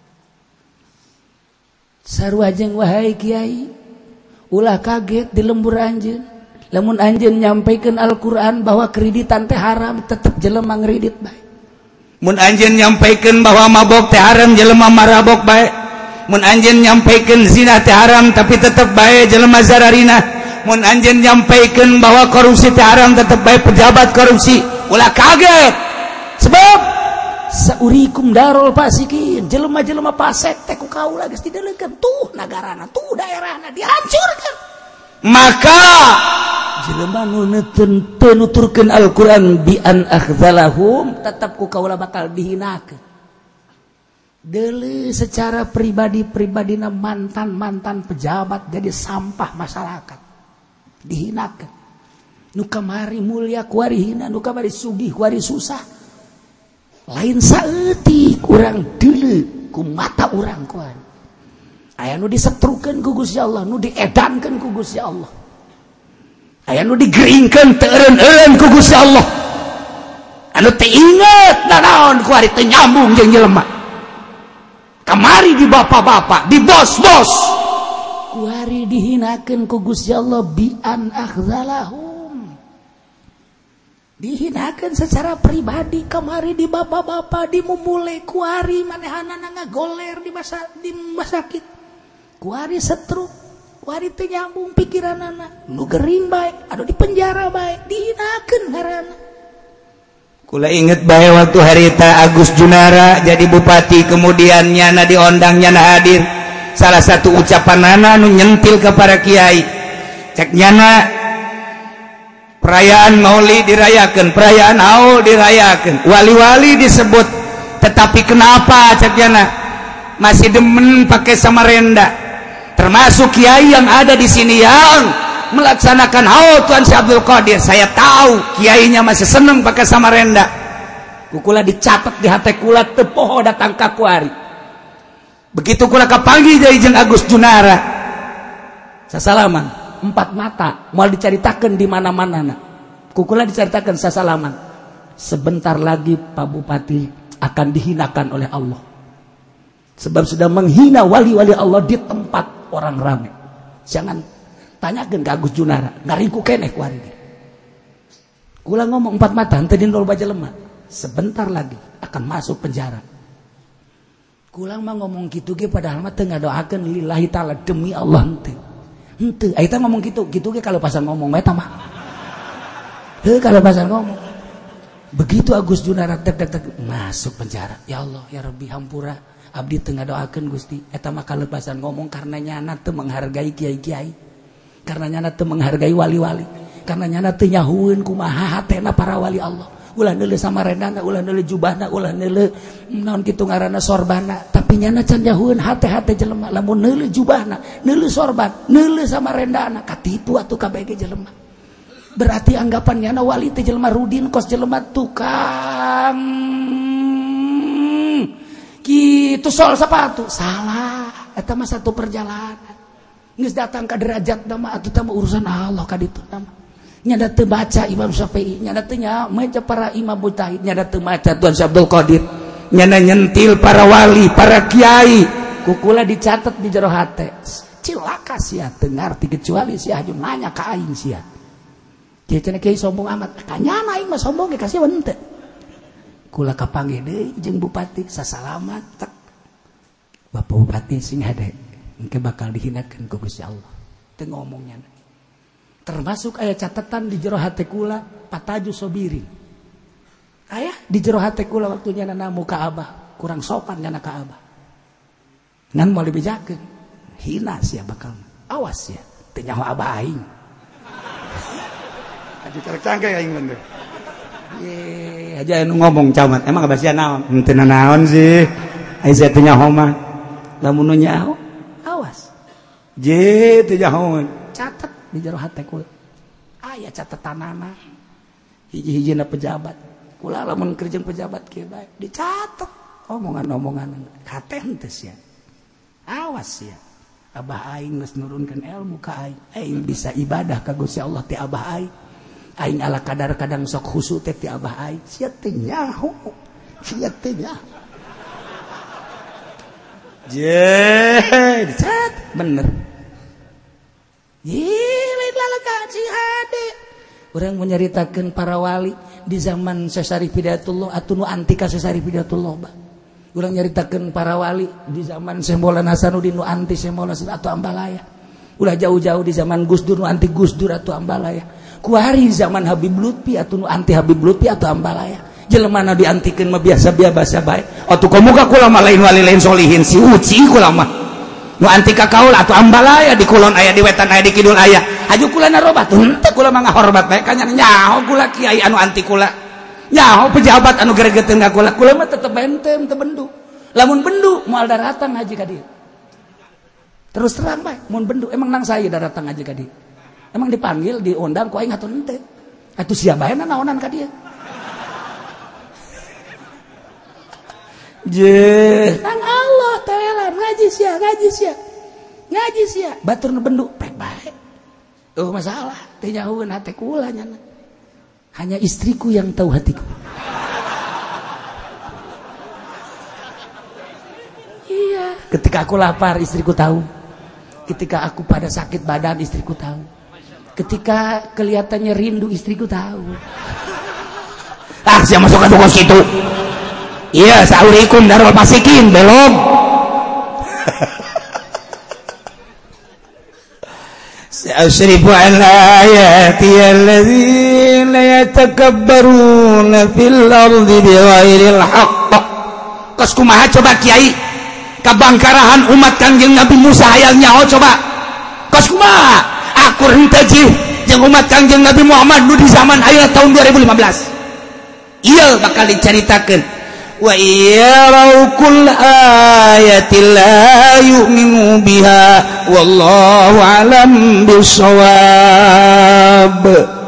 sarua jeung wahai kiai ulah kaget di lembur anjeun lamun anjeun nyampaikeun Al-Qur'an bahwa kreditan teh haram tetep jelema ngredit bae mun anjeun nyampaikeun bahwa mabok teh haram jelema marabok bae mun anjeun nyampaikeun zina teh haram tapi tetep bae jelema zararina mun anjeun nyampaikeun bahwa korupsi teh haram tetep bae pejabat korupsi ulah kaget sebab saurikum darul fasikin jelema-jelema fasik teh ku kaula geus dideulekeun tuh nagarana tuh daerahna dihancurkeun maka jelema nu teu nuturkeun Al-Qur'an bi an akhzalahum tetep ku kaula bakal dihinakeun deuleu secara pribadi-pribadina mantan-mantan pejabat jadi sampah masyarakat dihinakan nu kamari mulia kuari hina nu kamari sugih kuari susah lain saeutik urang deuleu ku mata urang kuari aya nu disetrukeun ku Gusti Allah nu diedankeun ku Gusti Allah aya nu digeringkeun teu eureun-eureun ku Gusti Allah anu teu inget nanaon kuari teu nyambung jeung jelema kamari di bapak-bapak di bos-bos kuari dihinakeun ku Gusti Allah bi an akhzalahum dihinakeun secara pribadi kamari di bapak-bapak di mumule kuari manehanana ngagoler di masa di masakit kuari setruk kuari teu nyambung pikiranana nu gering bae anu di penjara bae dihinakeun ngaranna kula inget bae waktu harita Agus Junara jadi bupati kemudian nyana diondang nyana hadir salah satu ucapan nana nu nyentil ke para kiai cek nyana perayaan maulid dirayakan perayaan haul dirayakan wali-wali disebut tetapi kenapa cek nyana masih demen pakai samarenda termasuk kiai yang ada di sini yang melaksanakan haul Tuan Syekh Abdul Qadir saya tahu kiainya masih seneng pakai samarenda kukula dicatat di hati kula teu poho datang ka kuari begitu kula kapanggih jadi jeung Agus Junara sasalaman empat mata moal dicaritakeun di mana-manana kukula dicaritakeun sasalaman sebentar lagi Pak Bupati akan dihinakan oleh Allah sebab sudah menghina wali-wali Allah di tempat orang ramai jangan tanyakeun ka Agus Junara ngaringku keneh ku ari kula ngomong empat mata henteu dindol baja lemah sebentar lagi akan masuk penjara kulang mah ngomong gitu ge padahal mah teu ngadoakeun lillahi taala demi Allah henteu. Henteu, eta ngomong gitu, gitu ge kalau pasan ngomong eta mah. Heuh kalau pasan ngomong. Begitu Agus Junara tek tek tek masuk penjara. Ya Allah, ya Rabbi hampura abdi teu ngadoakeun Gusti. Eta mah kalau pasan ngomong karena nyana teu menghargai kiai-kiai. Karena nyana teu menghargai wali-wali. Karena nyana teu nyahueun kumaha hatena para wali Allah. Ulah neuleuh samarendana, ulah neuleuh jubahna, ulah neuleuh naon kitu ngaranna sorbana, tapi nyana can nyahueun hate-hate jelema lamun neuleuh jubahna, neuleuh sorban, neuleuh samarendana, katipu atuh kabeh jelema. Berarti anggapan nyana wali teh jelema rudin kos jelema tukang kitu sol sepatu. Salah, eta mah satu perjalanan. Geus datang ka derajat mah atuh teh urusan Allah ka ditu mah. Nyada teu baca Imam Syafi'i, nyada teu maca para imam mujtahid, nyada teu maca Tuan Syekh Abdul Qadir, nyada nyentil para wali, para kiai, kukula dicatat di jero hate. Cilaka sia teu ngarti kecuali sia haju nanya ka aing sia. Kieu cenah kiai sombong amat, kanyana aing mah sombong ge kasih henteu. Kula kapanggih deui jeung bupati sasalamat tek. Bapak Bupati sing hade, engke bakal dihinakeun ku Gusti Allah. Teu ngomongnya. Termasuk aya catatan di jero hate kula pataju sobirin. Aya di jero hate kula waktu nyana muka Abah, kurang sopan nyana ka Abah. Ngan moal dibejakeun, hina sia bakal. Awas ya, teu nyaho Abah aing. Adi carek cangke aing bener. Ye, aja anu ngomong camat, emang abah sia naon? Henteu naon sih. Aisyah teh nyaho mah lamun nyaho awas je teh nyaho catet di jero hate kula aya catetanana hiji-hijina pejabat kula lamun kerja pejabat kieu bae dicatet omongan-omongan hate henteu sia awas ya abah aing geus nurunkeun ilmu ka aing aing bisa ibadah ka Gusti Allah ti abah aing aing ala kadar kadang sok khusu teh ti abah aing sia teh nyaho sia teh nyaho je dicat bener Yilid lalu kaji hade orang menyeritakan para wali di zaman Sesari Hidayatullah atau nu antika Sesari Hidayatullah bah. Orang nyeritakan para wali di zaman Syekh Maulana Hasanuddin nu anti Syekh Maulana atau Ambalaya ulah jauh-jauh di zaman Gus Dur nu anti Gus Dur atau Ambalaya kuari zaman Habib Lutfi atau nu anti Habib Lutfi atau Ambalaya jelema na diantikeun mah biasa-biasa bae atuh komuga kula mah lain wali lain solihin si uci kula mah nu anti ka kaul atuh Ambalaya di kulon aya di wetan aya di kidul aya aju kula narobat henteu kula mah ngahormat bae kanya nyaho kula kiai anu anti kula nyaho pejabat anu gregeteun ka kula kula mah tetep benteng teu bendu lamun bendu moal datang haji ka dieu terus terang bae mun bendu emang nang saya datang haji ka dieu emang dipanggil diundang ku aing atuh henteu atuh sia bae naonan ka dieu je nang Allah tewelan ngaji sia ngaji sia ngaji sia batur nu bendu pek bae oh masalah teh nyahoeun hate kula nya hanya istriku yang tahu hatiku iya ketika aku lapar istriku tahu ketika aku pada sakit badan istriku tahu ketika kelihatannya rindu istriku tahu ah siapa masuk ke toko situ iya sa'urikum darul pasikin belum sa'usrifu an ayati alladzina yatakabbaruna fil ardi bighairil haqq kos kumaha coba kiai kabangkarahan umat Kangjeng Nabi Musa hayang nyaho coba kos kumaha akur henteu jih jeung umat Kangjeng Nabi Muhammad nu di zaman ayeuna tahun dua ribu lima belas ieu bakal dicaritakeun wa yarau kull ayatin la yu'minu biha wallahu alam bisawab